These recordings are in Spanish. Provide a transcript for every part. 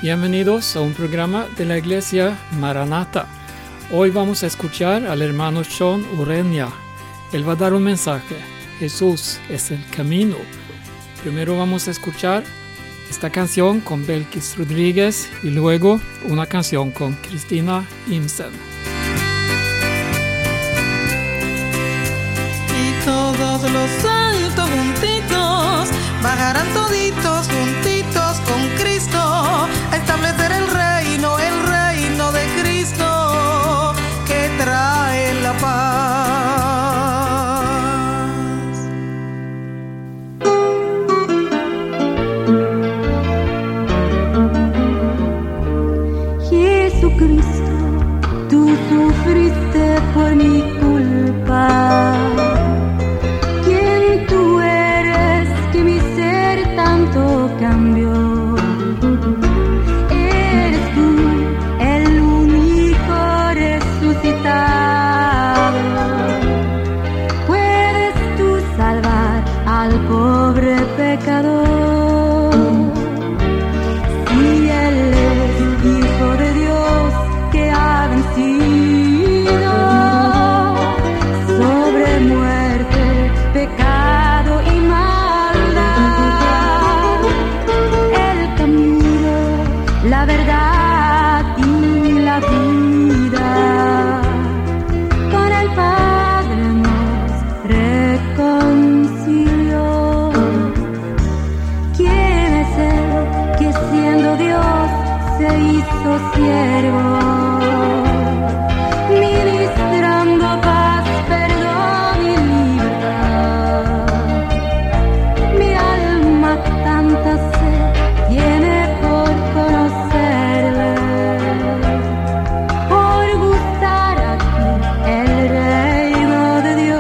Bienvenidos a un programa de la Iglesia Maranata. Hoy vamos a escuchar al hermano Sean Ureña. Él va a dar un mensaje. Jesús es el camino. Primero vamos a escuchar esta canción con Belkis Rodríguez y luego una canción con Cristina Imsen. Y todos los santos juntitos bajarán toditos juntitos con Cristo a establecer el reino de Cristo que trae la paz. Jesucristo, tú sufriste por mi culpa. ¿Quién tú eres que mi ser tanto cambió? Eres tú el único resucitado. Puedes tú salvar al pobre pecador. Si Él es Hijo de Dios que ha vencido sobre muerte, pecado y maldad, el camino, la verdad y la vida, con el Padre nos reconcilió. ¿Quién es Él que siendo Dios se hizo siervo, ministrando paz, perdón y libertad? Mi alma tanta sed tiene por conocerle, por gustar aquí el reino de Dios.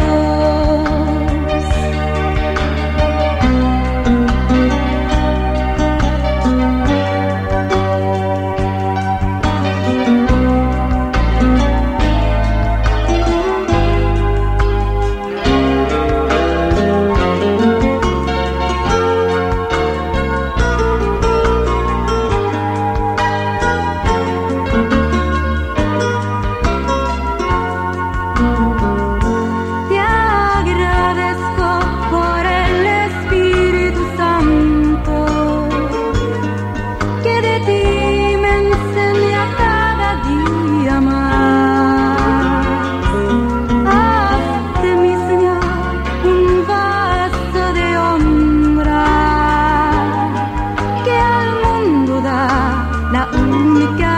Te agradezco por el Espíritu Santo que de ti me enseña cada día más. Haz de mi Señor un vaso de honra que al mundo da la única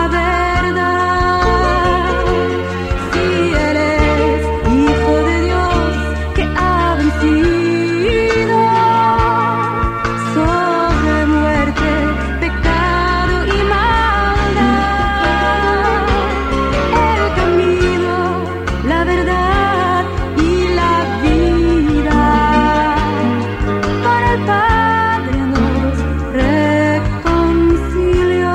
verdad. Si Él es Hijo de Dios que ha vencido sobre muerte, pecado y maldad, el camino, la verdad y la vida, con el Padre nos reconcilió.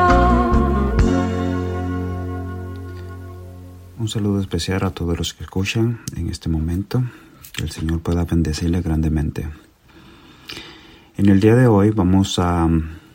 Un saludo especial a todos los que escuchan en este momento. Que el Señor pueda bendecirle grandemente. En el día de hoy vamos a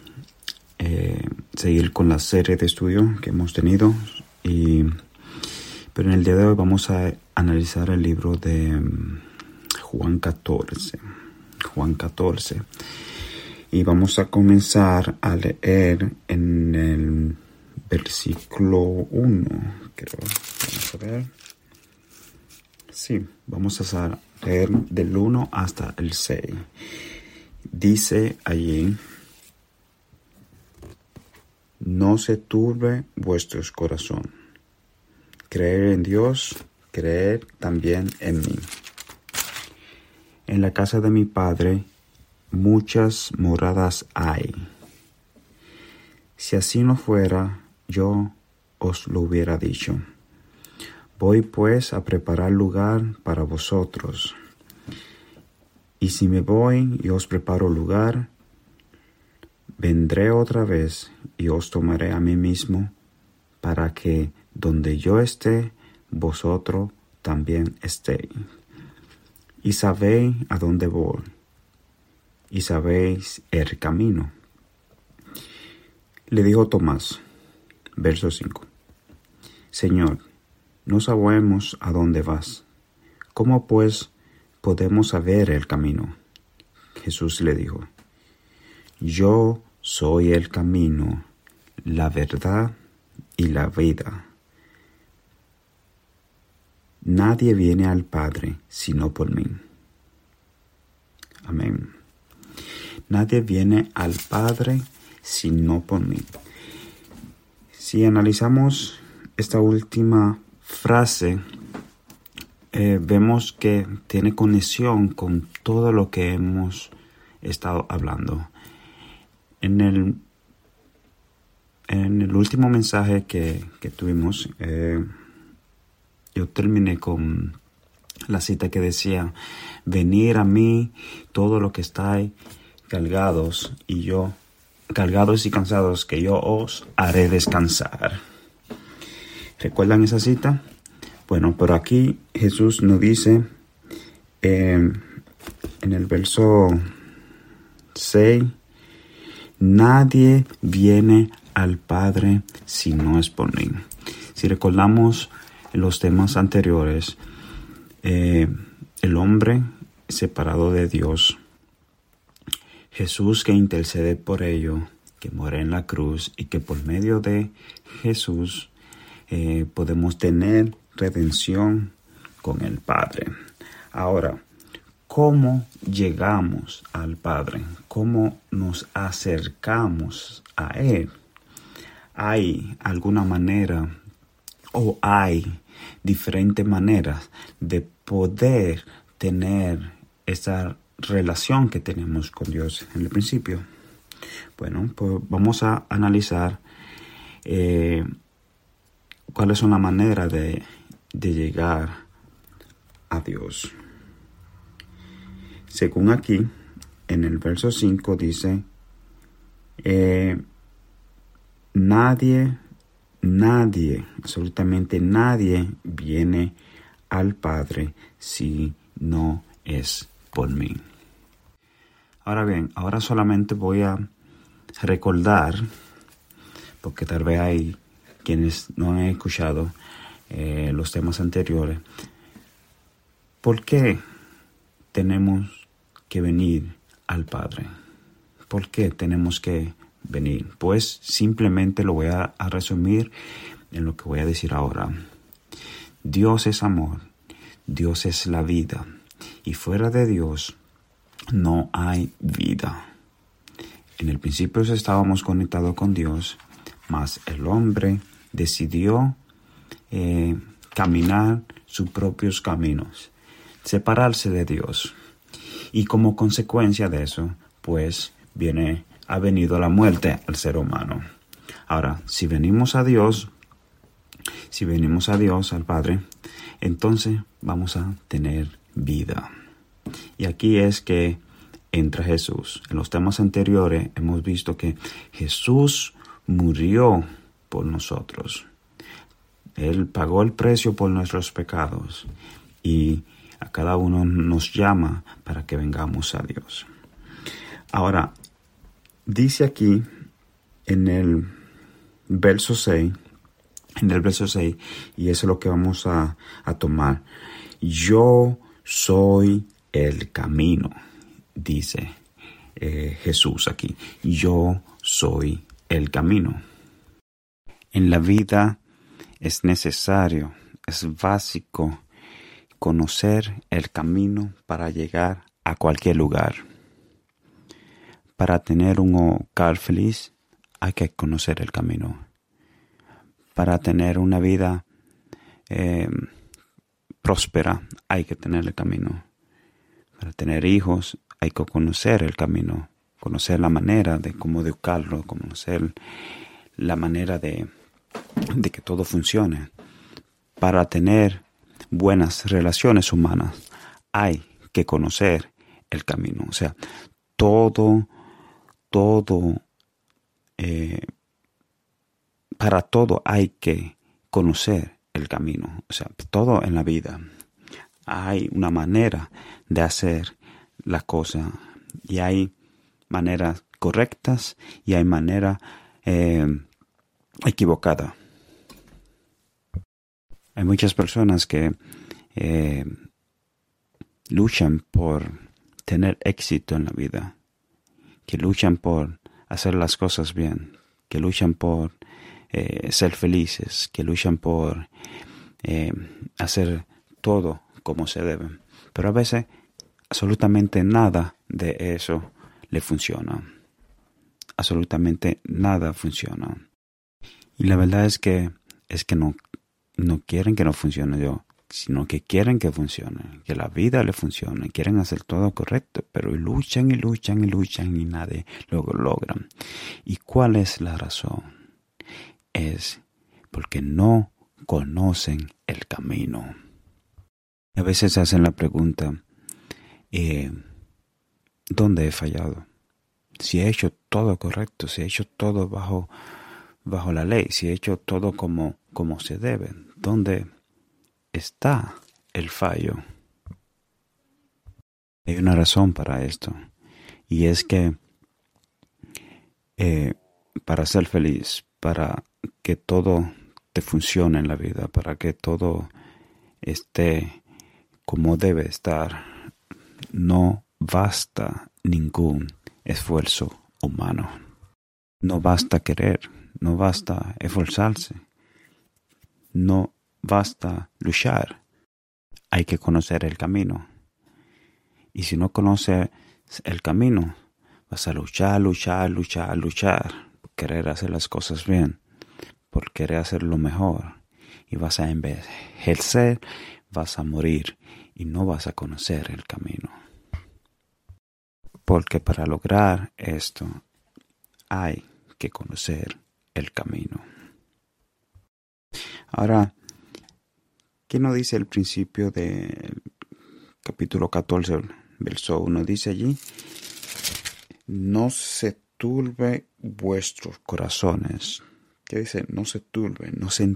seguir con la serie de estudio que hemos tenido. Pero en el día de hoy vamos a analizar el libro de Juan 14. Juan 14. Y vamos a comenzar a leer en el versículo 1. Vamos a ver. Sí, vamos a leer del 1 hasta el 6. Dice allí: no se turbe vuestros corazón. Creer en Dios, creer también en mí. En la casa de mi Padre muchas moradas hay. Si así no fuera, yo os lo hubiera dicho. Voy pues a preparar lugar para vosotros. Y si me voy y os preparo lugar, vendré otra vez y os tomaré a mí mismo, para que donde yo esté, vosotros también estéis. Y sabéis a dónde voy, y sabéis el camino. Le dijo Tomás, verso 5, Señor, no sabemos a dónde vas. ¿Cómo pues podemos saber el camino? Jesús le dijo, Yo soy el camino, la verdad y la vida. Nadie viene al Padre sino por mí. Amén. Nadie viene al Padre sino por mí. Si analizamos esta última frase, vemos que tiene conexión con todo lo que hemos estado hablando. En el último mensaje que tuvimos, yo terminé con la cita que decía, venid a mí todo lo que estáis cargados y cansados, que yo os haré descansar. ¿Recuerdan esa cita? Bueno, pero aquí Jesús nos dice en el verso 6, nadie viene al Padre si no es por mí. Si recordamos los temas anteriores, el hombre separado de Dios, Jesús que intercede por ello, que muere en la cruz y que por medio de Jesús podemos tener redención con el Padre. Ahora, ¿cómo llegamos al Padre? ¿Cómo nos acercamos a Él? ¿Hay alguna manera o hay diferentes maneras de poder tener esa relación que tenemos con Dios en el principio? Bueno, pues vamos a analizar cuáles son las maneras de llegar a Dios. Según aquí, en el verso 5 dice, nadie, absolutamente nadie viene al Padre si no es por mí. Ahora bien, ahora solamente voy a recordar, porque tal vez hay quienes no han escuchado los temas anteriores, ¿por qué tenemos que venir al Padre? ¿Por qué tenemos que venir? Pues simplemente lo voy a resumir en lo que voy a decir ahora. Dios es amor, Dios es la vida, y fuera de Dios no hay vida. En el principio estábamos conectados con Dios, mas el hombre decidió caminar sus propios caminos, separarse de Dios. Y como consecuencia de eso, pues ha venido la muerte al ser humano. Ahora, si venimos a Dios, al Padre, entonces vamos a tener vida. Y aquí es que entra Jesús. En los temas anteriores hemos visto que Jesús murió por nosotros. Él pagó el precio por nuestros pecados y a cada uno nos llama para que vengamos a Dios. Ahora, dice aquí en el verso 6, y eso es lo que vamos a tomar. Yo soy el camino, dice Jesús aquí. Yo soy el camino. En la vida es necesario, es básico conocer el camino para llegar a cualquier lugar. Para tener un hogar feliz hay que conocer el camino. Para tener una vida próspera hay que tener el camino. Para tener hijos hay que conocer el camino, conocer la manera de cómo educarlo, conocer la manera de que todo funcione. Para tener buenas relaciones humanas hay que conocer el camino. O sea, para todo hay que conocer el camino. O sea, todo en la vida hay una manera de hacer la cosa y hay maneras correctas y hay maneras equivocada. Hay muchas personas que luchan por tener éxito en la vida, que luchan por hacer las cosas bien, que luchan por ser felices, que luchan por hacer todo como se debe. Pero a veces absolutamente nada de eso le funciona. Absolutamente nada funciona. Y la verdad es que no quieren que no funcione yo, sino que quieren que funcione, que la vida le funcione, quieren hacer todo correcto, pero luchan y nadie lo logran. ¿Y cuál es la razón? Es porque no conocen el camino. A veces hacen la pregunta, ¿dónde he fallado? Si he hecho todo correcto, si he hecho todo bajo la ley, si he hecho todo como se debe, ¿dónde está el fallo? Hay una razón para esto, y es que para ser feliz, para que todo te funcione en la vida, para que todo esté como debe estar, no basta ningún esfuerzo humano. No basta querer, no basta esforzarse, no basta luchar. Hay que conocer el camino. Y si no conoces el camino, vas a luchar, por querer hacer las cosas bien, por querer hacer lo mejor. Y vas a envejecer, vas a morir y no vas a conocer el camino. Porque para lograr esto hay que conocer el camino. Ahora, ¿qué nos dice el principio del capítulo 14, verso 1? Dice allí, no se turbe vuestros corazones. ¿Qué dice? No se turbe, no se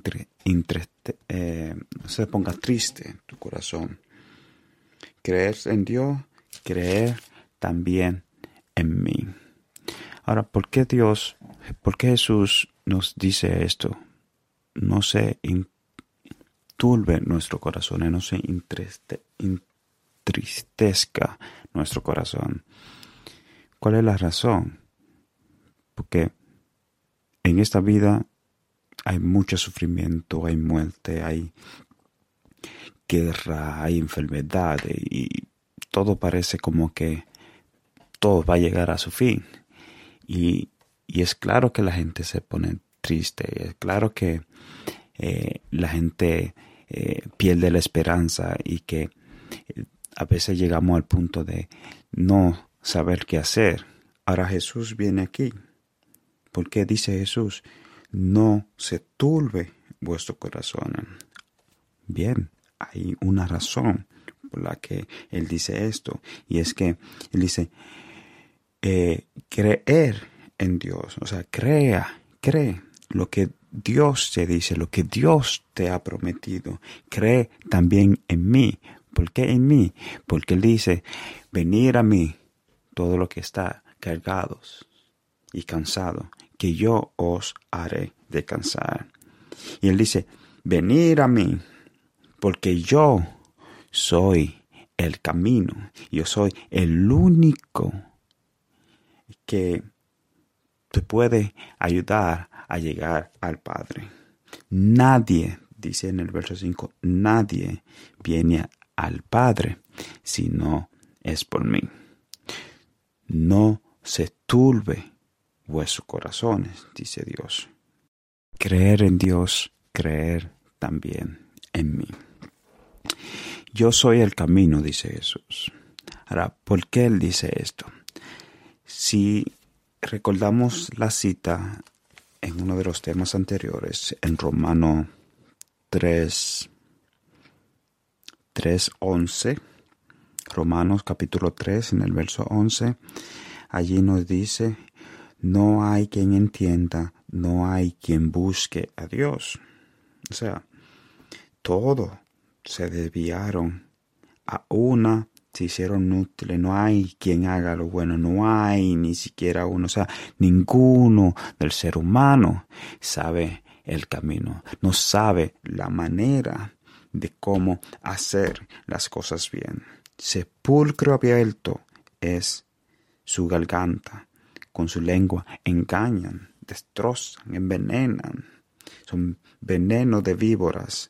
ponga triste tu corazón. Creer en Dios, creer también en mí. Ahora, ¿por qué Jesús nos dice esto? No se turbe nuestro corazón, no se entristezca nuestro corazón. ¿Cuál es la razón? Porque en esta vida hay mucho sufrimiento, hay muerte, hay guerra, hay enfermedad y todo parece como que todo va a llegar a su fin. Y es claro que la gente se pone triste, es claro que la gente pierde la esperanza y que a veces llegamos al punto de no saber qué hacer. Ahora Jesús viene aquí. ¿Por qué dice Jesús? No se turbe vuestro corazón. Bien, hay una razón por la que Él dice esto. Y es que Él dice, creer en Dios. O sea, cree lo que Dios te dice, lo que Dios te ha prometido. Cree también en mí. ¿Por qué en mí? Porque Él dice, venid a mí, todo lo que está cargados y cansado, que yo os haré descansar. Y Él dice, venid a mí, porque yo soy el camino. Yo soy el único que te puede ayudar a llegar al Padre. Nadie, dice en el verso 5, nadie viene al Padre si no es por mí. No se turbe vuestros corazones, dice Dios. Creer en Dios, creer también en mí. Yo soy el camino, dice Jesús. Ahora, ¿por qué Él dice esto? Si recordamos la cita en uno de los temas anteriores, en Romanos 3:11, Romanos capítulo 3, en el verso 11, allí nos dice, no hay quien entienda, no hay quien busque a Dios. O sea, todos se desviaron, a una se hicieron útiles. No hay quien haga lo bueno, no hay ni siquiera uno. O sea, ninguno del ser humano sabe el camino, no sabe la manera de cómo hacer las cosas bien. Sepulcro abierto es su garganta, con su lengua engañan, destrozan, envenenan. Son veneno de víboras.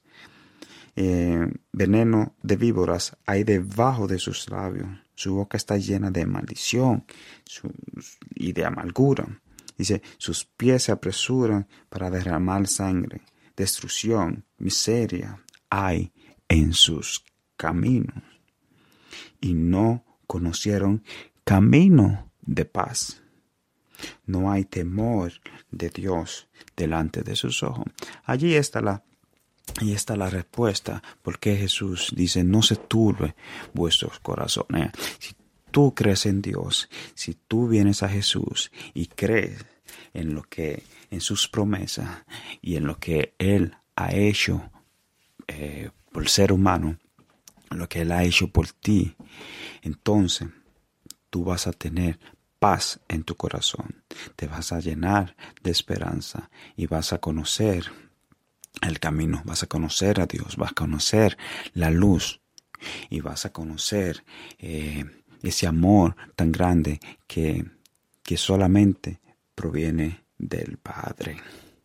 Veneno de víboras hay debajo de sus labios. Su boca está llena de maldición y de amargura. Dice, sus pies se apresuran para derramar sangre. Destrucción, miseria hay en sus caminos. Y no conocieron camino de paz. No hay temor de Dios delante de sus ojos. Allí está la respuesta, porque Jesús dice, no se turbe vuestros corazones. Si tú crees en Dios, si tú vienes a Jesús y crees en sus promesas y en lo que Él ha hecho por el ser humano, lo que Él ha hecho por ti, entonces tú vas a tener paz en tu corazón, te vas a llenar de esperanza y vas a conocer el camino, vas a conocer a Dios, vas a conocer la luz y vas a conocer ese amor tan grande que solamente proviene del Padre.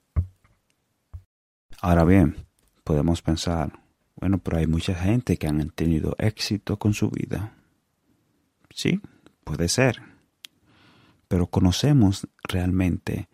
Ahora bien, podemos pensar, bueno, pero hay mucha gente que han tenido éxito con su vida. Sí, puede ser. Pero conocemos realmente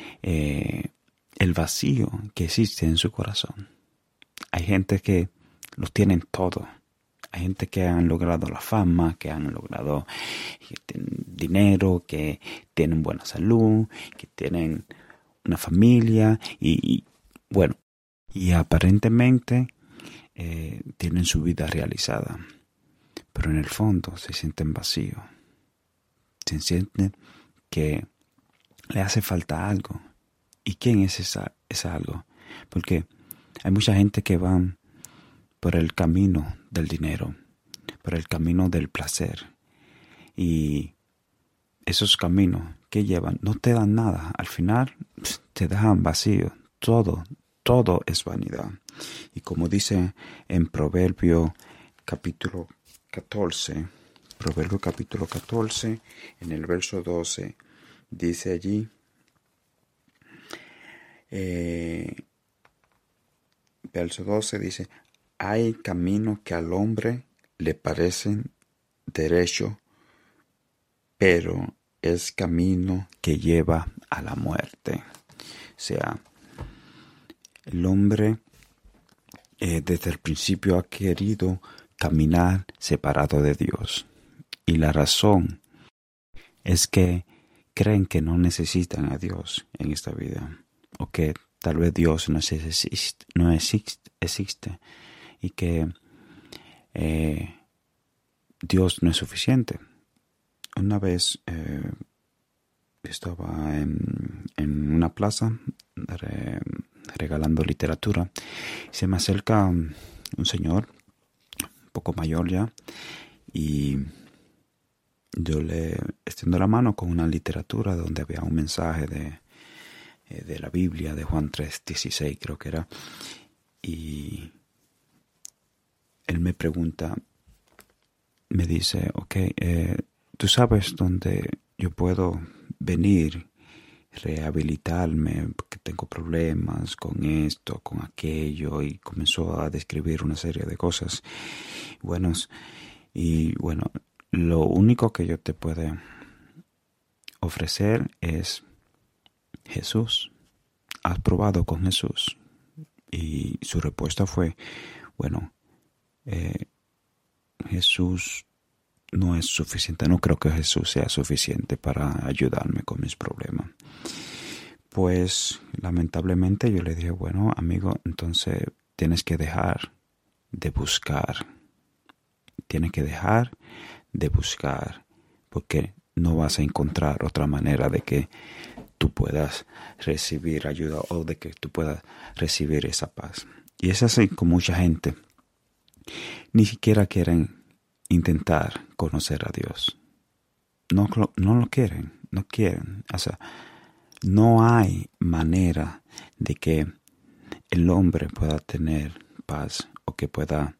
el vacío que existe en su corazón. Hay gente que lo tienen todo. Hay gente que han logrado la fama, que han logrado dinero, que tienen buena salud, que tienen una familia y aparentemente tienen su vida realizada. Pero en el fondo se sienten vacíos. Se sienten que le hace falta algo. ¿Y quién es esa algo? Porque hay mucha gente que va por el camino del dinero, por el camino del placer. Y esos caminos que llevan no te dan nada. Al final te dejan vacío. Todo es vanidad. Y como dice en Proverbio capítulo 14, en el verso 12, dice allí, verso 12 dice, hay caminos que al hombre le parecen derecho, pero es camino que lleva a la muerte. O sea, el hombre desde el principio ha querido caminar separado de Dios. Y la razón es que creen que no necesitan a Dios en esta vida. O que tal vez Dios no existe y que Dios no es suficiente. Una vez estaba en una plaza regalando literatura. Se me acerca un señor un poco mayor ya y yo le extiendo la mano con una literatura donde había un mensaje de la Biblia, de Juan 3:16 creo que era, y él me pregunta, me dice, ¿tú sabes dónde yo puedo venir, rehabilitarme, porque tengo problemas con esto, con aquello? Y comenzó a describir una serie de cosas buenas. Y bueno, lo único que yo te puedo ofrecer es Jesús. ¿Has probado con Jesús? Y su respuesta fue, Jesús no es suficiente. No creo que Jesús sea suficiente para ayudarme con mis problemas. Pues lamentablemente yo le dije, amigo, entonces tienes que dejar de buscar. Tienes que dejar de buscar, porque no vas a encontrar otra manera de que tú puedas recibir ayuda o de que tú puedas recibir esa paz. Y es así con mucha gente. Ni siquiera quieren intentar conocer a Dios. No lo quieren, no quieren. O sea, no hay manera de que el hombre pueda tener paz o que pueda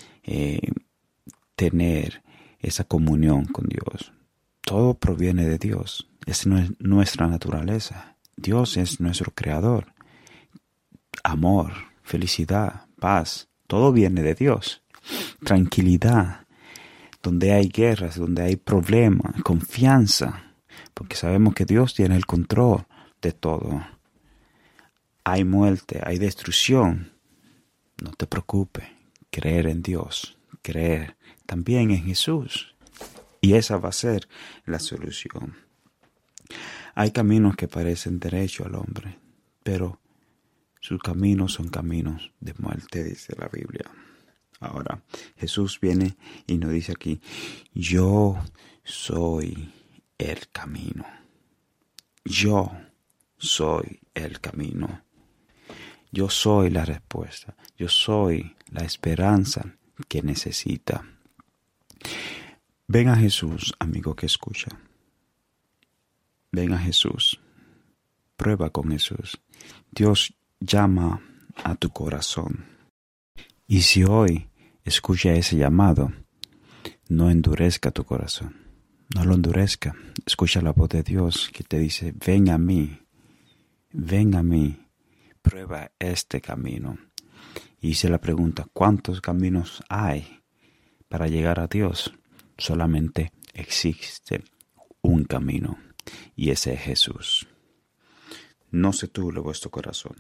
tener esa comunión con Dios. Todo proviene de Dios. Es nuestra naturaleza. Dios es nuestro creador. Amor, felicidad, paz, todo viene de Dios. Tranquilidad, donde hay guerras, donde hay problemas, confianza, porque sabemos que Dios tiene el control de todo. Hay muerte, hay destrucción. No te preocupes, creer en Dios, creer también en Jesús. Y esa va a ser la solución. Hay caminos que parecen derechos al hombre, pero sus caminos son caminos de muerte, dice la Biblia. Ahora, Jesús viene y nos dice aquí, yo soy el camino. Yo soy el camino. Yo soy la respuesta. Yo soy la esperanza que necesita. Ven a Jesús, amigo que escucha. Ven a Jesús. Prueba con Jesús. Dios llama a tu corazón. Y si hoy escucha ese llamado, no endurezca tu corazón. No lo endurezca. Escucha la voz de Dios que te dice, ven a mí. Ven a mí. Prueba este camino. Y hice la pregunta, ¿cuántos caminos hay para llegar a Dios? Solamente existe un camino. Y ese es Jesús. No se turbe vuestro corazón.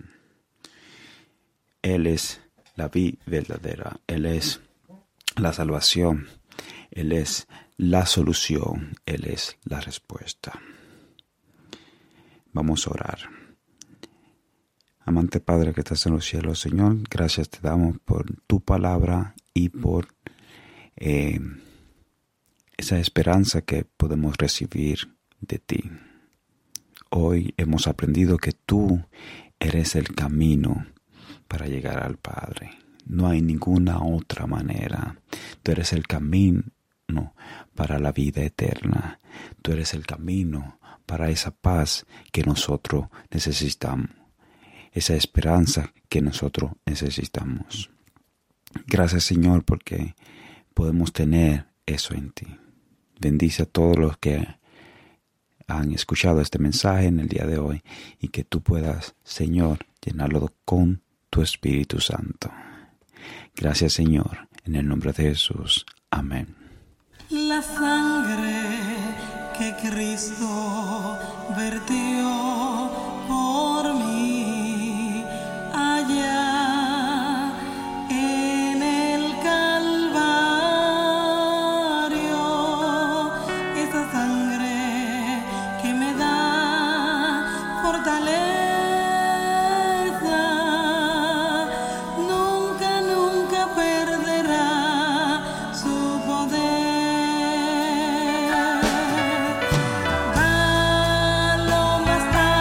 Él es la vida verdadera. Él es la salvación. Él es la solución. Él es la respuesta. Vamos a orar. Amante Padre que estás en los cielos, Señor, gracias te damos por tu palabra y por esa esperanza que podemos recibir de ti. Hoy hemos aprendido que tú eres el camino para llegar al Padre. No hay ninguna otra manera. Tú eres el camino para la vida eterna. Tú eres el camino para esa paz que nosotros necesitamos. Esa esperanza que nosotros necesitamos. Gracias, Señor, porque podemos tener eso en ti. Bendice a todos los que han escuchado este mensaje en el día de hoy y que tú puedas, Señor, llenarlo con tu Espíritu Santo. Gracias, Señor, en el nombre de Jesús. Amén. La sangre que Cristo vertió por mí allá en el Calvario, esa sangre que me da fortaleza, nunca perderá su poder. Va lo más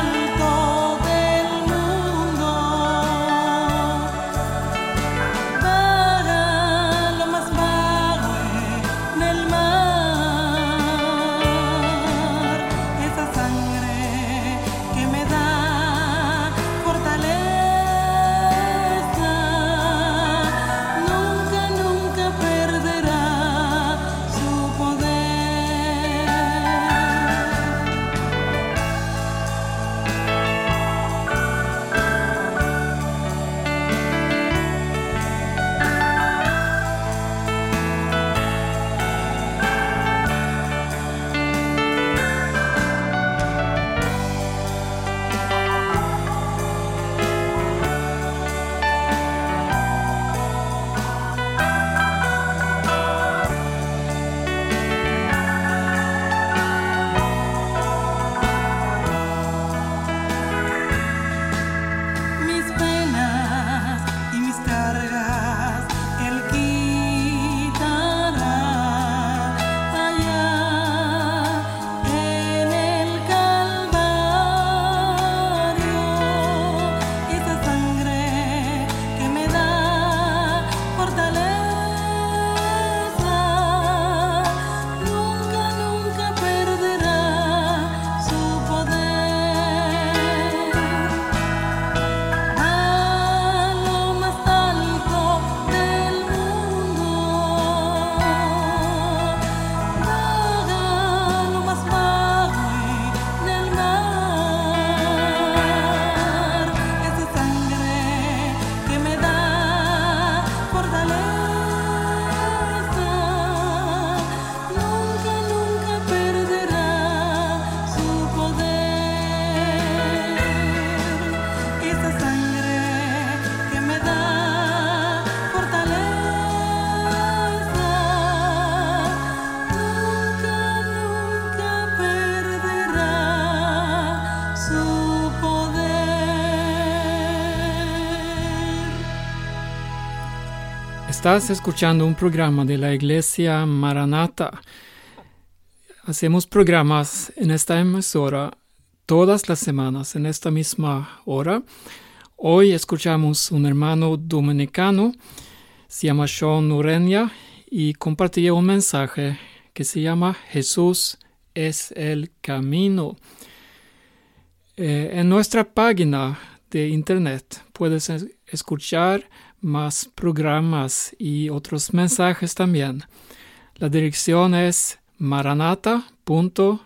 Estás escuchando un programa de la Iglesia Maranata. Hacemos programas en esta emisora todas las semanas, en esta misma hora. Hoy escuchamos un hermano dominicano, se llama Sean Ureña, y compartía un mensaje que se llama Jesús es el camino. En nuestra página de internet puedes escuchar más programas y otros mensajes también. La dirección es maranata.do.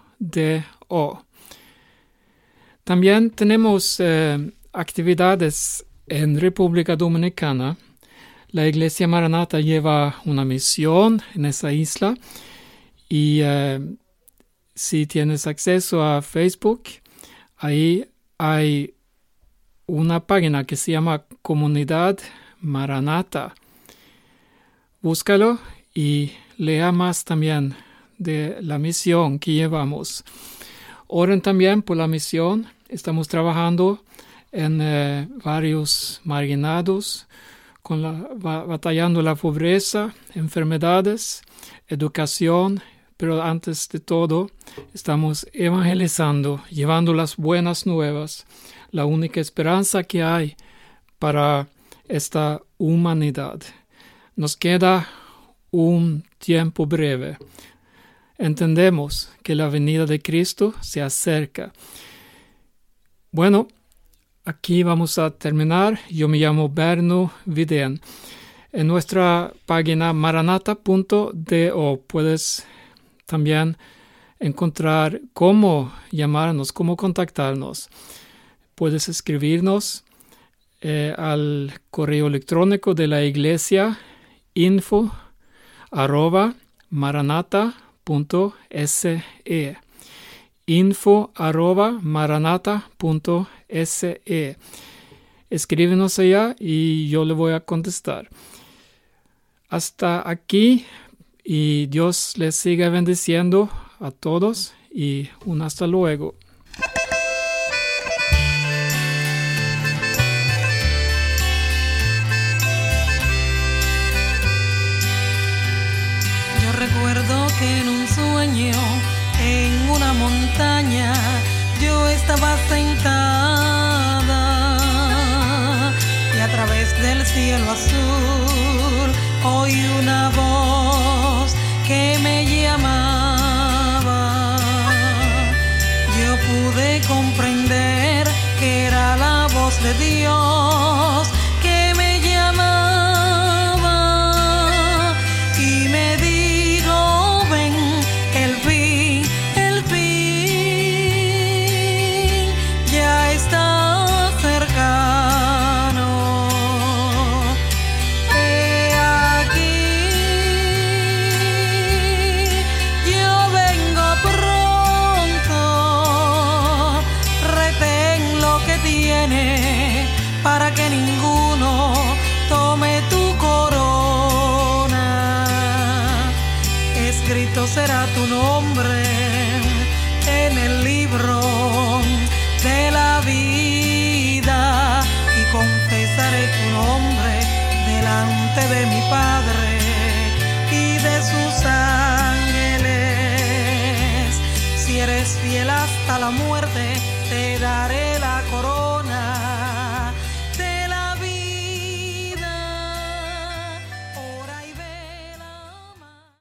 También tenemos actividades en República Dominicana. La Iglesia Maranata lleva una misión en esa isla y si tienes acceso a Facebook, ahí hay una página que se llama Comunidad Maranata. Búscalo y lea más también de la misión que llevamos. Oren también por la misión. Estamos trabajando en varios marginados, batallando la pobreza, enfermedades, educación, pero antes de todo estamos evangelizando, llevando las buenas nuevas, la única esperanza que hay para esta humanidad. Nos queda un tiempo breve. Entendemos que la venida de Cristo se acerca. Bueno, aquí vamos a terminar. Yo me llamo Berno Vidén. En nuestra página maranata.do puedes también encontrar cómo llamarnos, cómo contactarnos. Puedes escribirnos al correo electrónico de la iglesia info@maranata.se info@maranata.se. Escríbenos allá y yo le voy a contestar. Hasta aquí y Dios les siga bendiciendo a todos y un hasta luego. Yo recuerdo que en un sueño en una montaña yo estaba sentada y a través del cielo azul oí una voz que me llamaba. Yo pude comprender que era la voz de Dios que me llamaba y me dijo: ven, el fin ya está cercano. He aquí, yo vengo pronto. Retén lo que tienes para que ninguno tome tu corona. Escrito será tu nombre en el libro de la vida y confesaré tu nombre delante de mi Padre y de sus ángeles. Si eres fiel hasta la muerte, te daré la corona.